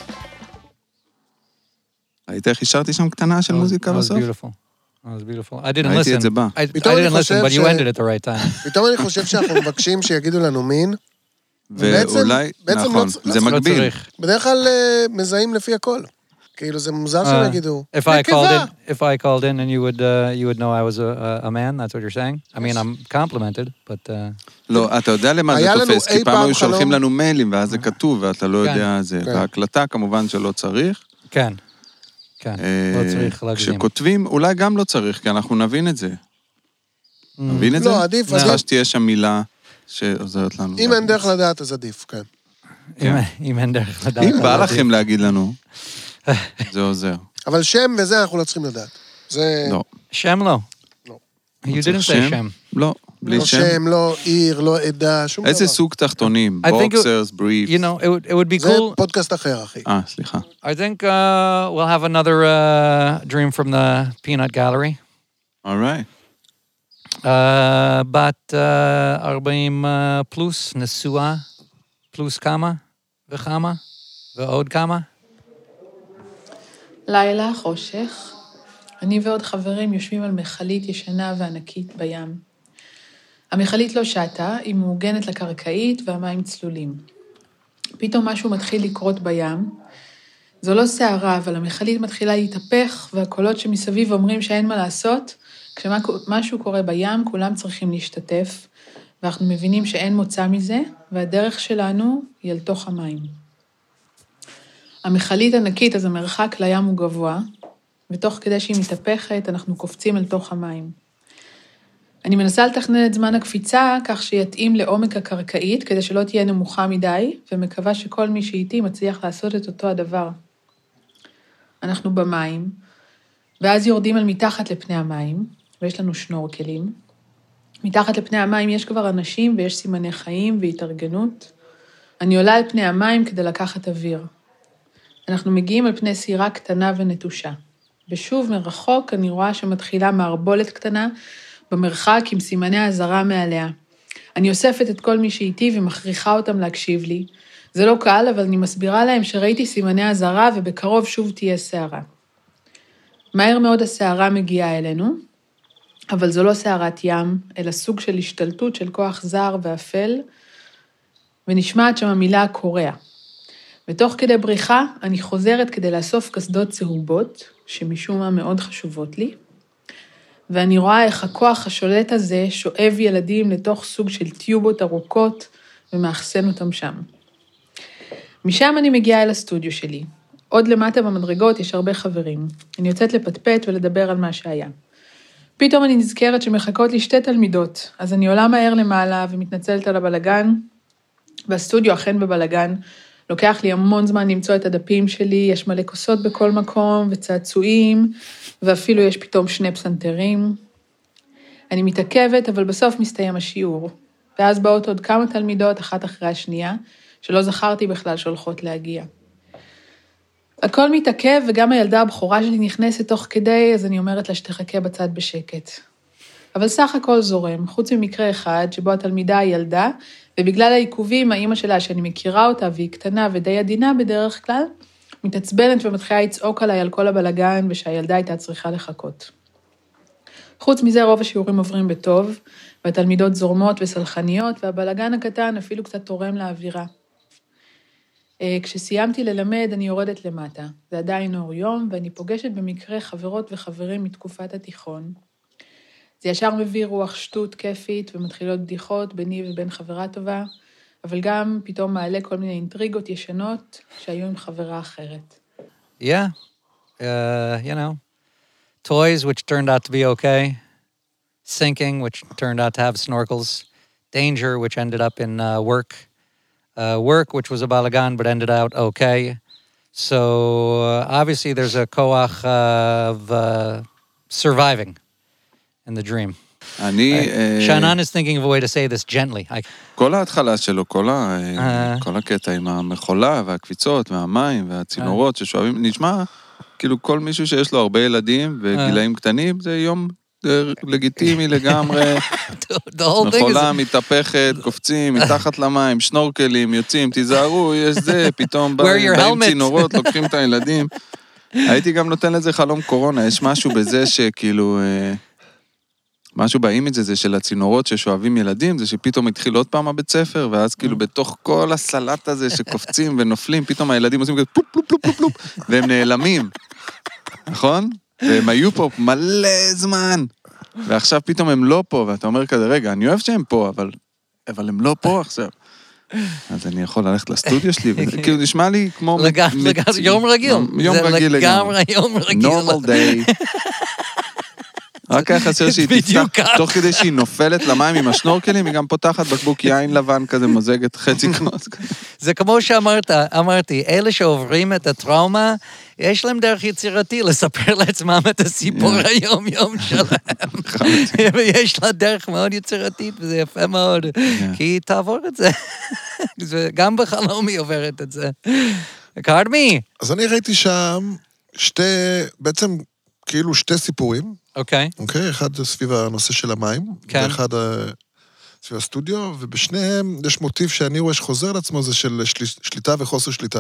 ראית איך השארתי שם קטנה של מוזיקה That was בסוף? beautiful. That was beautiful. I didn't ראיתי listen. את זה בא. I, I פתאום אני didn't listen, חושב but you ש- ended at the right time. פתאום אני חושב שאנחנו מבקשים שיגידו לנו מין. ואולי, בעצם לא נכון, צ- לא זה צריך- לא מגביל. צריך. בדרך כלל אה, מזהים לפי הכל. כאילו זה מוזר שהם יגידו. If I called נקבה. in, if I called in and you would, uh, you would know I was a, a, a man, that's what you're saying? I mean, I'm complimented, but... Uh, לא, אתה יודע למה זה היה לנו תופס, אי כי פעם פעם היו שולחים חלום- לנו מיילים, ואז זה כתוב, ואתה לא כן. יודע זה. כן. בהקלטה כמובן שלא צריך. כן, כן, לא אה, צריך להגזים. כשכותבים, אולי גם לא צריך, כי אנחנו נבין את זה. נבין את זה? לא, עדיף, צריכה עדיף. שתהיה שם מילה שעוזרת לנו. אם אין דרך לדעת, אז עדיף, כן. אם- אם אין דרך לדעת. אם בא אז לכם להגיד לנו, זה עוזר. אבל שם וזה אנחנו לא צריכים לדעת. זה לא. שם לא. לא. You צריך didn't say שם. לא, בלי לא שם. שם, לא עיר, לא עדה, שום דבר. איזה סוג תחתונים? I think it- בוקסרס, בריפס. You know, it would, it would be לא זה cool. פודקאסט אחר, אחי. אה, סליחה. I think uh, we'll have another uh, dream from the Peanut Gallery. All right. בת ארבעים פלוס, נשואה, פלוס כמה וכמה, ועוד כמה. לילה, חושך. אני ועוד חברים יושבים על מכלית ישנה וענקית בים. המכלית לא שטה, היא מעוגנת לקרקעית והמים צלולים. פתאום משהו מתחיל לקרות בים. זו לא שערה, אבל המכלית מתחילה להתהפך, והקולות שמסביב אומרים שאין מה לעשות. כשמשהו קורה בים, כולם צריכים להשתתף, ואנחנו מבינים שאין מוצא מזה, והדרך שלנו היא אל תוך המים. המכלית ענקית, אז המרחק לים הוא גבוה, ותוך כדי שהיא מתהפכת, אנחנו קופצים אל תוך המים. אני מנסה לתכנן את זמן הקפיצה, כך שיתאים לעומק הקרקעית, כדי שלא תהיה נמוכה מדי, ומקווה שכל מי שאיתי מצליח לעשות את אותו הדבר. אנחנו במים, ואז יורדים על מתחת לפני המים, ויש לנו שנורקלים. מתחת לפני המים יש כבר אנשים, ויש סימני חיים והתארגנות. אני עולה על פני המים כדי לקחת אוויר. אנחנו מגיעים על פני סירה קטנה ונטושה. ושוב מרחוק אני רואה שמתחילה מערבולת קטנה, במרחק עם סימני האזהרה מעליה. אני אוספת את כל מי שאיתי ומכריחה אותם להקשיב לי. זה לא קל, אבל אני מסבירה להם שראיתי סימני האזהרה ובקרוב שוב תהיה שערה. מהר מאוד השערה מגיעה אלינו, אבל זו לא שערת ים, אלא סוג של השתלטות של כוח זר ואפל, ונשמעת שם המילה קורע. ותוך כדי בריחה אני חוזרת כדי לאסוף קסדות צהובות, שמשום מה מאוד חשובות לי, ואני רואה איך הכוח השולט הזה שואב ילדים לתוך סוג של טיובות ארוכות ומאחסן אותם שם. משם אני מגיעה אל הסטודיו שלי. עוד למטה במדרגות יש הרבה חברים. אני יוצאת לפטפט ולדבר על מה שהיה. פתאום אני נזכרת שמחכות לי שתי תלמידות, אז אני עולה מהר למעלה ומתנצלת על הבלגן, והסטודיו אכן בבלגן. לוקח לי המון זמן למצוא את הדפים שלי, יש מלא כוסות בכל מקום וצעצועים, ואפילו יש פתאום שני פסנתרים. אני מתעכבת, אבל בסוף מסתיים השיעור. ואז באות עוד כמה תלמידות, אחת אחרי השנייה, שלא זכרתי בכלל שהולכות להגיע. הכל מתעכב, וגם הילדה הבכורה שלי נכנסת תוך כדי, אז אני אומרת לה שתחכה בצד בשקט. אבל סך הכל זורם, חוץ ממקרה אחד, שבו התלמידה היא ילדה, ובגלל העיכובים, האמא שלה, שאני מכירה אותה, והיא קטנה ודי עדינה בדרך כלל, מתעצבנת ומתחילה לצעוק עליי על כל הבלגן, ושהילדה הייתה צריכה לחכות. חוץ מזה, רוב השיעורים עוברים בטוב, והתלמידות זורמות וסלחניות, והבלגן הקטן אפילו קצת תורם לאווירה. כשסיימתי ללמד, אני יורדת למטה. זה עדיין אור יום, ואני פוגשת במקרה חברות וחברים מתקופת התיכון. זה ישר מביא רוח שטות כיפית, ומתחילות בדיחות ביני ובין חברה טובה, אבל גם פתאום מעלה כל מיני אינטריגות ישנות שהיו עם חברה אחרת. Yeah, uh, you know, toys which turned out to be okay, sinking which turned out to have snorkels, danger which ended up in uh, work, uh, work which was a balagan but ended out okay. So uh, obviously there's a koach uh, of uh, surviving in the dream. אני... Shannon is thinking of a way to say this gently. כל ההתחלה שלו, כל הקטע עם המחולה והקפיצות והמים והצינורות ששואבים, נשמע כאילו כל מישהו שיש לו הרבה ילדים וגילאים קטנים, זה יום לגיטימי לגמרי. מחולה מתהפכת, קופצים, מתחת למים, שנורקלים, יוצאים, תיזהרו, יש זה, פתאום באים צינורות, לוקחים את הילדים. הייתי גם נותן לזה חלום קורונה, יש משהו בזה שכאילו... משהו באימג' הזה של הצינורות ששואבים ילדים, זה שפתאום התחיל עוד פעם הבית ספר, ואז כאילו בתוך כל הסלט הזה שקופצים ונופלים, פתאום הילדים עושים כזה פלופ, פלופ, פלופ, פלופ, פלופ, והם נעלמים, נכון? והם היו פה מלא זמן, ועכשיו פתאום הם לא פה, ואתה אומר כזה, רגע, אני אוהב שהם פה, אבל, אבל הם לא פה עכשיו. אז אני יכול ללכת לסטודיו שלי, וזה כאילו נשמע לי כמו... לגמרי, יום רגיל. יום רגיל לגמרי. יום רגיל. normal day. רק היה חסר שהיא תפתח, תוך כדי שהיא נופלת למים עם השנורקלים, היא גם פותחת בקבוק יין לבן כזה, מוזגת חצי כנוס. זה כמו שאמרת, אמרתי, אלה שעוברים את הטראומה, יש להם דרך יצירתי לספר לעצמם את הסיפור היום-יום שלהם. ויש לה דרך מאוד יצירתית, וזה יפה מאוד, כי היא תעבור את זה. גם בחלום היא עוברת את זה. קרמי. אז אני ראיתי שם שתי, בעצם כאילו שתי סיפורים, אוקיי. אוקיי? אחד זה סביב הנושא של המים, כן. ואחד סביב הסטודיו, ובשניהם יש מוטיב שאני רואה שחוזר לעצמו, זה של של... שליטה וחוסר שליטה.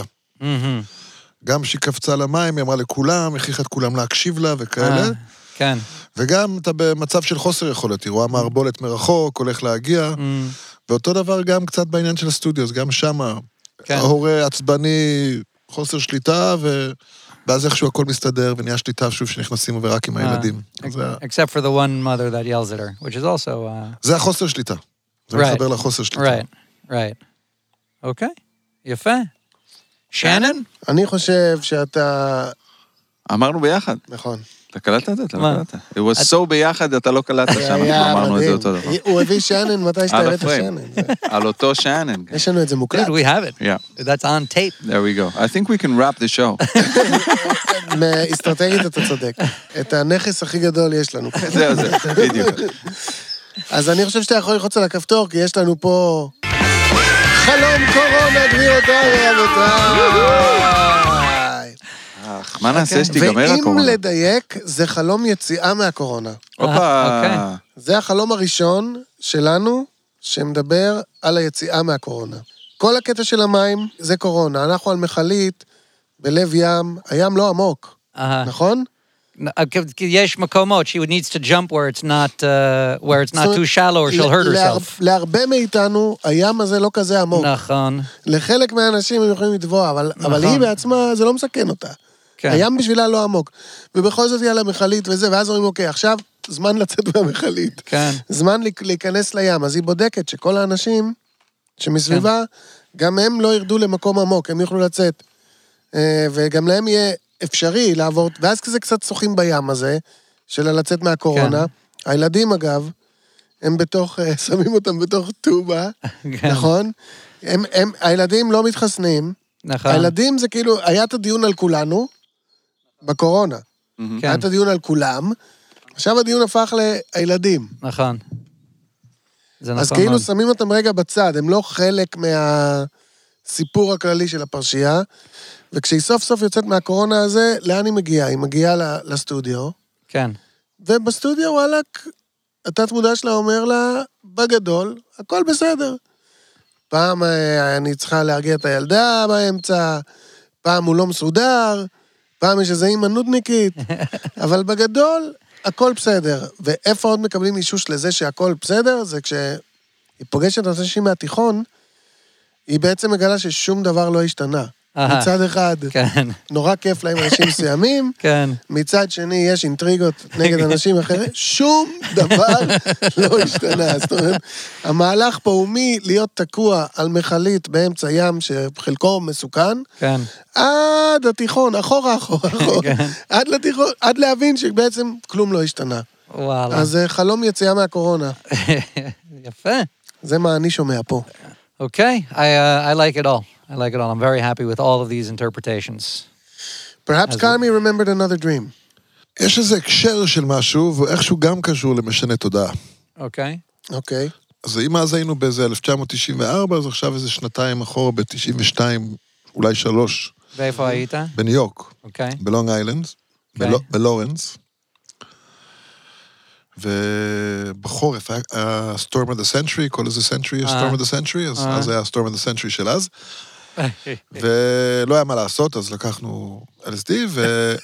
גם שהיא קפצה למים, היא אמרה לכולם, הכריחה את כולם להקשיב לה וכאלה. כן. וגם אתה במצב של חוסר יכולת, היא רואה מערבולת מרחוק, הולך להגיע, ואותו דבר גם קצת בעניין של הסטודיו, אז גם שם ההורה עצבני, חוסר שליטה, ואז איכשהו הכל מסתדר, ונהיה שליטה שוב שנכנסים ורק עם הילדים. Except for the one mother that yells at her, which is also... זה החוסר שליטה. זה מחבר לחוסר שליטה. Right, right. אוקיי, יפה. שנן? אני חושב שאתה... אמרנו ביחד. נכון. אתה קלטת את זה? אתה לא קלטת. It was so ביחד, אתה לא קלטת שאנחנו אמרנו את זה אותו דבר. הוא הביא שנן מתי שאתה הבאת שנן. על אותו שנן. יש לנו את זה מוקלט. Dude, we have it. Yeah. That's on tape. There we go. I think we can wrap the show. מאסטרטגית אתה צודק. את הנכס הכי גדול יש לנו. זהו, זהו, בדיוק. אז אני חושב שאתה יכול ללחוץ על הכפתור, כי יש לנו פה... חלום קורונה, גבירותיי ורבותיי. מה נעשה שתיגמר הקורונה? ואם לדייק, זה חלום יציאה מהקורונה. אופה. זה החלום הראשון שלנו, שמדבר על היציאה מהקורונה. כל הקטע של המים זה קורונה. אנחנו על מחלית, בלב ים, הים לא עמוק, נכון? יש מקומות, she needs to jump where it's not, uh, where it's not too shallow or she'll hurt herself. להרבה מאיתנו, הים הזה לא כזה עמוק. נכון. לחלק מהאנשים הם יכולים לטבוע, אבל, אבל היא בעצמה, זה לא מסכן אותה. כן. הים בשבילה לא עמוק. ובכל זאת היא על המחלית וזה, ואז אומרים, אוקיי, עכשיו זמן לצאת מהמחלית. כן. זמן להיכנס לים. אז היא בודקת שכל האנשים שמסביבה, כן. גם הם לא ירדו למקום עמוק, הם יוכלו לצאת. וגם להם יהיה אפשרי לעבור, ואז כזה קצת שוחים בים הזה, של לצאת מהקורונה. כן. הילדים, אגב, הם בתוך, שמים אותם בתוך טובה, כן. נכון? הם, הם, הילדים לא מתחסנים. נכון. הילדים זה כאילו, היה את הדיון על כולנו, בקורונה. כן. היה את הדיון על כולם, עכשיו הדיון הפך לילדים. נכון. זה נכון. אז כאילו מאוד. שמים אותם רגע בצד, הם לא חלק מהסיפור הכללי של הפרשייה, וכשהיא סוף סוף יוצאת מהקורונה הזה, לאן היא מגיעה? היא מגיעה לסטודיו. כן. ובסטודיו, וואלק, התת מודע שלה אומר לה, בגדול, הכל בסדר. פעם אני צריכה להרגיע את הילדה באמצע, פעם הוא לא מסודר, פעם יש איזו אימא נודניקית, אבל בגדול, הכל בסדר. ואיפה עוד מקבלים אישוש לזה שהכל בסדר? זה כשהיא פוגשת את אנשים מהתיכון, היא בעצם מגלה ששום דבר לא השתנה. מצד אחד, כן. נורא כיף להם אנשים מסוימים, כן. מצד שני יש אינטריגות נגד אנשים אחרים, שום דבר לא השתנה. זאת אומרת, המהלך פה הוא מי להיות תקוע על מחלית באמצע ים שחלקו מסוכן, כן. עד התיכון, אחורה, אחורה, אחורה, כן. עד לתיכון, עד להבין שבעצם כלום לא השתנה. וואלה. אז חלום יציאה מהקורונה. יפה. זה מה אני שומע פה. Okay, I, uh, I like it all. I like it all. I'm very happy with all of these interpretations. Perhaps Carmi remembered another dream. יש איזה הקשר של משהו, ואיכשהו גם קשור למשנה תודעה. אוקיי. אוקיי. אז אם אז היינו באיזה אלף תשע מאות תשעים וארבע, אז עכשיו איזה שנתיים אחורה, ב-תשעים ושתיים, אולי שלוש. ואיפה היית? בניו יורק. אוקיי. בלונג איילנד, בלורנס. ובחורף, היה Storm of the Century, כל איזה Century, Storm of the Century, אז היה Storm of the Century של אז. ולא היה מה לעשות, אז לקחנו אל אס די,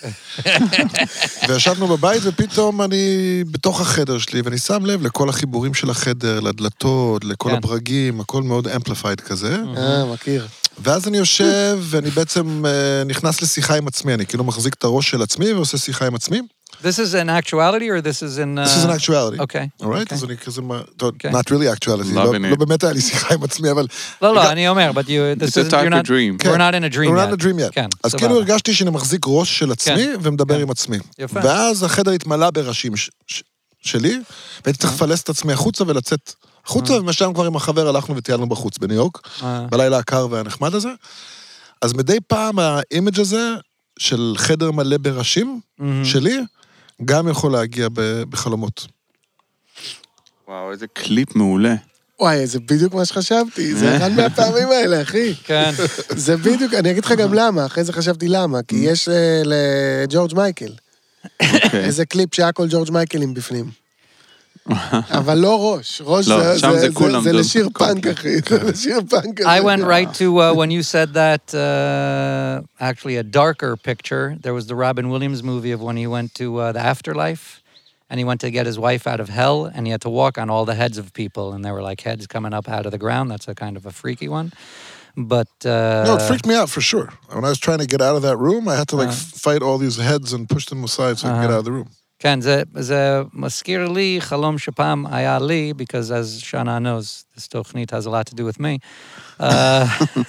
וישבנו בבית, ופתאום אני בתוך החדר שלי, ואני שם לב לכל החיבורים של החדר, לדלתות, לכל הברגים, הכל מאוד amplified כזה. אה, מכיר. ואז אני יושב, ואני בעצם נכנס לשיחה עם עצמי, אני כאילו מחזיק את הראש של עצמי, ועושה שיחה עם עצמי. This is an actuality, or this is in... Uh... This is an actuality. Okay. All right? Okay. אז אני כזה... Not really actuality. לא באמת היה לי שיחה עם עצמי, אבל... לא, לא, אני אומר, but you... It's a type of dream. We're not in a dream yet. We're not in a dream yet. כן, אז כאילו הרגשתי שאני מחזיק ראש של עצמי, ומדבר עם עצמי. יפה. ואז החדר התמלא בראשים שלי, והייתי צריך לפלס את עצמי החוצה ולצאת החוצה, ומשם כבר עם החבר הלכנו וטיילנו בחוץ בניו יורק, בלילה הקר והנחמד הזה. אז מדי פעם האימג' הזה של חדר מלא בראשים שלי, גם יכול להגיע בחלומות. וואו, איזה קליפ מעולה. וואי, זה בדיוק מה שחשבתי, זה אחד מהפעמים האלה, אחי. כן. זה בדיוק, אני אגיד לך גם למה, אחרי זה חשבתי למה, כי יש לג'ורג' מייקל, איזה קליפ שהיה כל ג'ורג' מייקלים בפנים. אבל לא ראש, ראש לא, זה, שם זה, זה זה, כולם זה דום. לשיר פאנק, אחי, זה לשיר פאנק. I went right to, uh, when you said that, uh, actually a darker picture, there was the Robin Williams movie of when he went to uh, the afterlife, and he went to get his wife out of hell, and he had to walk on all the heads of people, and there were like heads coming up out of the ground. That's a kind of a freaky one. But... Uh, No, it freaked me out for sure. When I was trying to get out of that room, I had to like Uh. fight all these heads and push them aside so I could get out of the room. כן, זה, זה מזכיר לי חלום שפעם היה לי, because as Shana knows, this תוכנית has a lot to do with me, uh,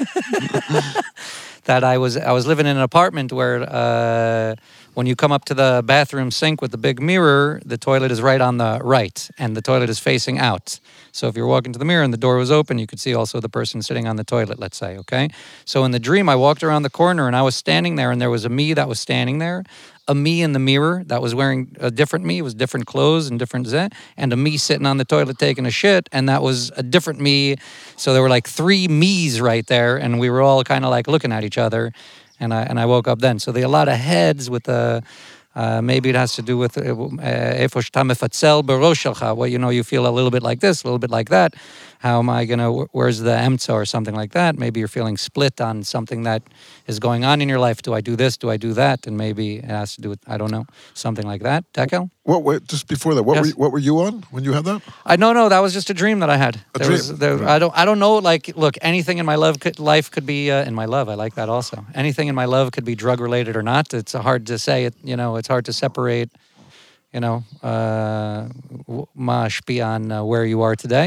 that I was, I was living in an apartment where uh, when you come up to the bathroom sink with the big mirror, the toilet is right on the right, and the toilet is facing out. So if you're walking to the mirror and the door was open, you could see also the person sitting on the toilet, let's say, okay? So in the dream, I walked around the corner, and I was standing there, and there was a me that was standing there, a me in the mirror that was wearing a different me, it was different clothes and different zeh, and a me sitting on the toilet taking a shit, and that was a different me. So there were like three me's right there, and we were all kind of like looking at each other, and I and I woke up then. So there are a lot of heads with the, uh, maybe it has to do with איפה שאתה מפצל בראש שלך, well, you know, you feel a little bit like this, a little bit like that. How am I going to, where's the emtza or something like that? Maybe you're feeling split on something that is going on in your life. Do I do this? Do I do that? And maybe it has to do with, I don't know, something like that. Tekel? What, wait, just before that, what, Yes. were you, what were you on when you had that? I no no that was just a dream that I had. A There dream. Was, there, I don't I don't know, like, look, anything in my love could, life could be uh, in my love. I like that also. Anything in my love could be drug related or not. It's hard to say it. You know, it's hard to separate. You know, uh, ma shpi on uh, where you are today.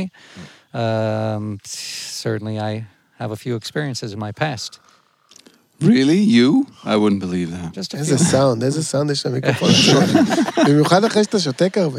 Um, certainly, I have a few experiences in my past. Really? You? I wouldn't believe that. Just a איזה few. סאונד, איזה סאונד יש למיקרופון. במיוחד אחרי שאתה שותק הרבה.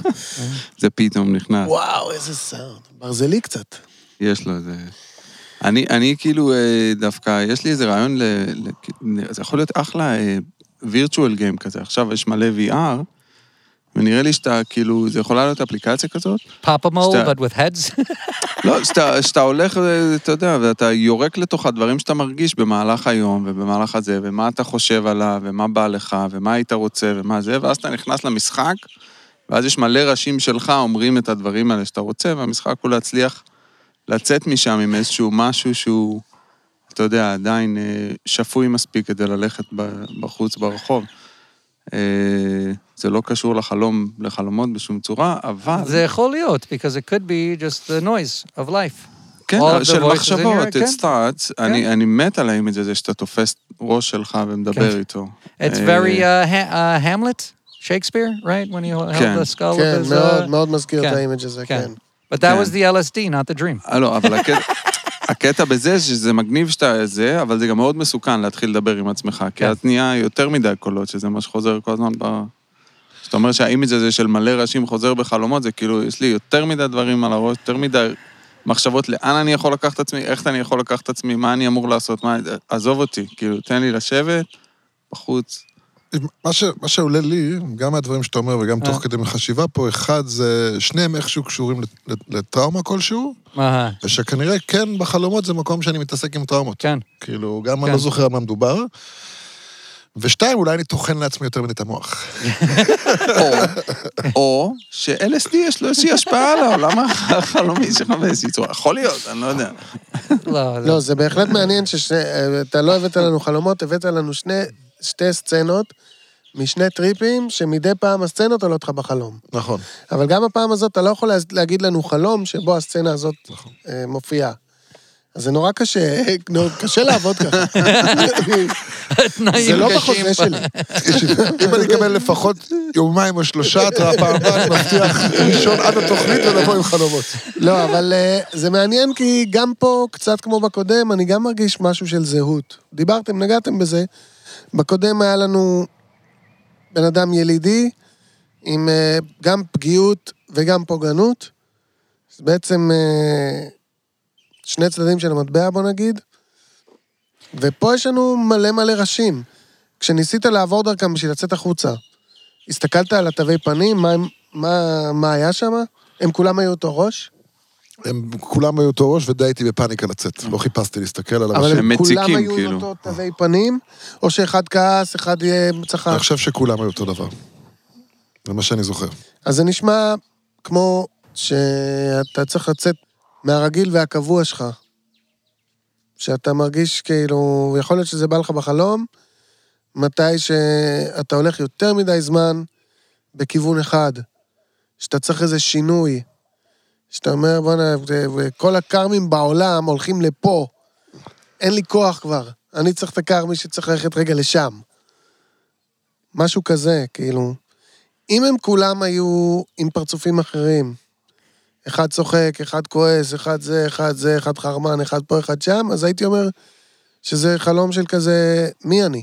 זה פתאום נכנס. וואו, איזה סאונד. ברזלי קצת. יש לו איזה... אני, אני כאילו אה, דווקא, יש לי איזה רעיון, ל, ל, זה יכול להיות אחלה וירטואל גיים כזה. עכשיו יש מלא וי אר, ונראה לי שאתה, כאילו, זה יכולה להיות אפליקציה כזאת. Pop-a-mole, שאתה- but with heads. לא, שאתה, שאתה הולך, אתה יודע, ואתה יורק לתוך הדברים שאתה מרגיש במהלך היום, ובמהלך הזה, ומה אתה חושב עליו, ומה בא לך, ומה היית רוצה, ומה זה, ואז אתה נכנס למשחק, ואז יש מלא ראשים שלך אומרים את הדברים האלה שאתה רוצה, והמשחק הוא להצליח לצאת משם עם איזשהו משהו שהוא, אתה יודע, עדיין אה, שפוי מספיק כדי ללכת ב- בחוץ ברחוב. אה, זה לא קשור לחלום, לחלומות בשום צורה, אבל... זה יכול להיות, because it could be just the noise of life. כן, All of the של voices in מחשבות, your- כן. it starts, אני, אני מת על האימג' הזה שאתה תופס ראש שלך ומדבר כן. איתו. It's אה, very uh, ha- uh, Hamlet, Shakespeare, right? When he held כן. the skull כן, of his... מאוד, Uh, מאוד מזכיר את כן. האימג' הזה, כן. כן. But that כן. was the L S D, not the dream. אה, לא, אבל הקטע, הקטע בזה שזה מגניב שאתה זה, אבל זה גם מאוד מסוכן להתחיל לדבר עם עצמך, כי כן. אז נהיה יותר מדי קולות, שזה מה שחוזר כל הזמן ב... זאת אומרת שהאימג' הזה של מלא ראשים חוזר בחלומות, זה כאילו, יש לי יותר מדי דברים על הראש, יותר מדי מחשבות לאן אני יכול לקחת את עצמי, איך אני יכול לקחת את עצמי, מה אני אמור לעשות, מה... עזוב אותי, כאילו, תן לי לשבת, בחוץ. מה, ש, מה שעולה לי, גם מהדברים שאתה אומר וגם תוך כדי מחשיבה פה, אחד זה, שניהם איכשהו קשורים לט- לטראומה כלשהו, אהה, ושכנראה כן בחלומות זה מקום שאני מתעסק עם טראומות. כן. כאילו, גם כן. אני לא זוכר על מה מדובר. ושתיים, אולי אני טוחן לעצמי יותר מדי את המוח. או, או ש-אל אס די יש לו איזושהי השפעה על העולם החלומי שלך באיזושהי צורה. יכול להיות, אני לא יודע. לא, לא, זה בהחלט מעניין שאתה לא הבאת לנו חלומות, הבאת לנו שני, שתי סצנות משני טריפים, שמדי פעם הסצנות עולות לך בחלום. נכון. אבל גם הפעם הזאת אתה לא יכול להגיד לנו חלום שבו הסצנה הזאת אה, מופיעה. אז זה נורא קשה, נורא קשה לעבוד ככה. זה לא בחוזה שלי. אם אני אקבל לפחות יומיים או שלושה, התראה פעם הבאה, אני מבטיח לישון עד התוכנית ולבוא עם חלומות. לא, אבל אה, זה מעניין כי גם פה, קצת כמו בקודם, אני גם מרגיש משהו של זהות. דיברתם, נגעתם בזה. בקודם היה לנו בן אדם ילידי, עם אה, גם פגיעות וגם פוגענות. אז בעצם אה, שני צדדים של המטבע, בוא נגיד. ופה יש לנו מלא מלא ראשים. כשניסית לעבור דרכם בשביל לצאת החוצה, הסתכלת על התווי פנים, מה, מה, מה היה שם? הם כולם היו אותו ראש? הם כולם היו אותו ראש, ודי הייתי בפאניקה לצאת. לא חיפשתי להסתכל על אבל הראשים. הם כולם מציקים, היו כאילו. עם אותו תווי פנים, או שאחד כעס, אחד יהיה צחק. אני חושב שכולם היו אותו דבר. זה מה שאני זוכר. אז זה נשמע כמו שאתה צריך לצאת מהרגיל והקבוע שלך. שאתה מרגיש כאילו, יכול להיות שזה בא לך בחלום, מתי שאתה הולך יותר מדי זמן בכיוון אחד, שאתה צריך איזה שינוי, שאתה אומר, בוא נה, כל הקרמים בעולם הולכים לפה, אין לי כוח כבר, אני צריך את הקרמי שצריך ללכת רגע לשם. משהו כזה, כאילו. אם הם כולם היו עם פרצופים אחרים, אחד צוחק, אחד כועס, אחד זה, אחד זה, אחד חרמן, אחד פה, אחד שם, אז הייתי אומר שזה חלום של כזה, מי אני?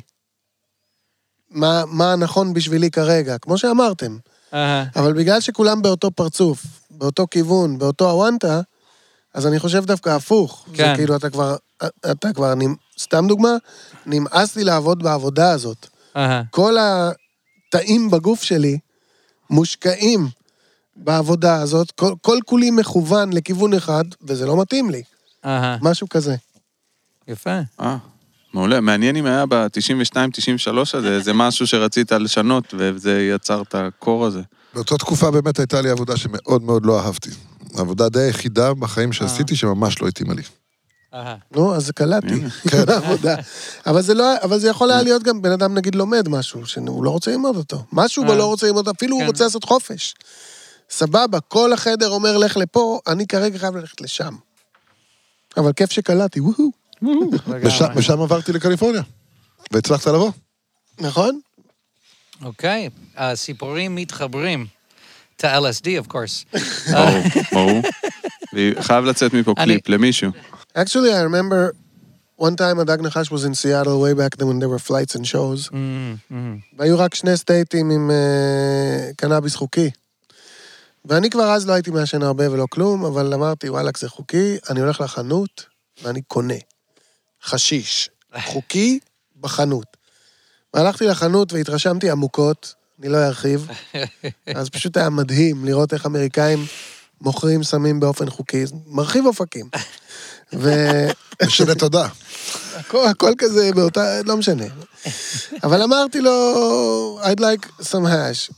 מה, מה נכון בשבילי כרגע? כמו שאמרתם. אבל בגלל שכולם באותו פרצוף, באותו כיוון, באותו הוואנטה, אז אני חושב דווקא הפוך. כן. זה כאילו, אתה כבר, אתה כבר, סתם דוגמה, נמאס לי לעבוד בעבודה הזאת. כל התאים בגוף שלי מושקעים בעבודה הזאת, כל, כל כולי מכוון לכיוון אחד, וזה לא מתאים לי. משהו כזה. יפה. אה, מעולה. מעניין אם היה ב-תשעים ושתיים תשעים ושלוש הזה, זה משהו שרצית לשנות, וזה יצר את הקור הזה. באותה תקופה באמת הייתה לי עבודה שמאוד מאוד לא אהבתי. העבודה די היחידה בחיים שעשיתי שממש לא התאימה לי. נו, אז זה קלטתי. עבודה. אבל זה לא, אבל זה יכול היה להיות גם בן אדם נגיד לומד משהו, שהוא לא רוצה ללמוד אותו. משהו בו לא רוצה ללמוד, אפילו הוא רוצה לעשות חופש. סבבה, כל החדר אומר לך לפה, אני כרגע חייב ללכת לשם. אבל כיף שקלטתי, וואו. ושם עברתי לקליפורניה, והצלחת לבוא. נכון? אוקיי, הסיפורים מתחברים. To L S D, of course. ברור, ברור. חייב לצאת מפה קליפ למישהו. Actually, I remember one time הדג נחש was in Seattle way back then when there were flights and shows. והיו רק שני סטייטים עם קנאביס חוקי. ואני כבר אז לא הייתי מעשן הרבה ולא כלום, אבל אמרתי, וואלק, זה חוקי, אני הולך לחנות ואני קונה. חשיש. חוקי בחנות. והלכתי לחנות והתרשמתי עמוקות, אני לא ארחיב, אז פשוט היה מדהים לראות איך אמריקאים מוכרים סמים באופן חוקי, מרחיב אופקים. ו... משנה תודה. הכל, הכל כזה באותה, לא משנה. אבל אמרתי לו, I'd like some hash.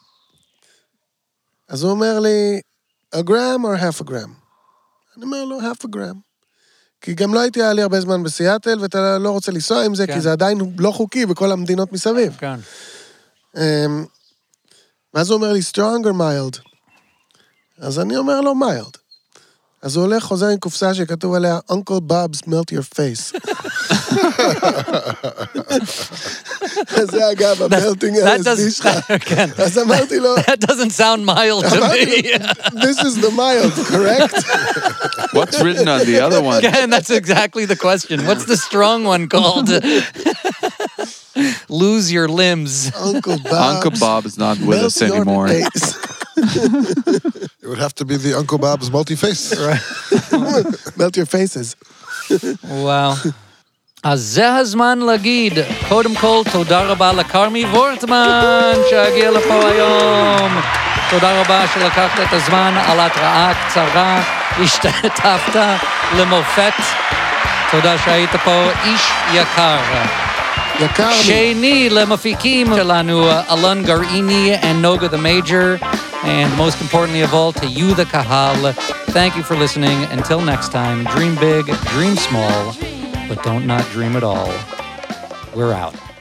אז הוא אומר לי, a gram or half a gram? אני אומר לו, half a gram. כי גם לא הייתי היה לי הרבה זמן בסיאטל, ואתה לא רוצה לנסוע עם זה, כי זה עדיין לא חוקי בכל המדינות מסביב. כן. ואז הוא אומר לי, strong or mild? אז אני אומר לו, mild. אז הוא הולך, חוזר עם קופסה שכתוב עליה, Uncle Bob's melt your face. אז זה אגב, המלטינג L S D שלך. אז אמרתי לו... That doesn't sound mild to me. This is the mild, correct? What's written on the other one? Again, that's exactly the question. What's the strong one called? Lose your limbs. Uncle Bob. Uncle Bob is not with us anymore. It would have to be the Uncle Bob's multi-face. Melt your faces. וואו. אז זה הזמן להגיד, קודם כל, תודה רבה לקרמי וורטמן שהגיע לפה היום. תודה רבה שלקחת את הזמן על התראה קצרה, השתתפת למופת. תודה שהיית פה, איש יקר. יקר לי. שני למפיקים שלנו, אלון גרעיני and Noga the Major, and most importantly of all, to you the Kahal. Thank you for listening. Until next time, dream big, dream small, but don't not dream at all. We're out.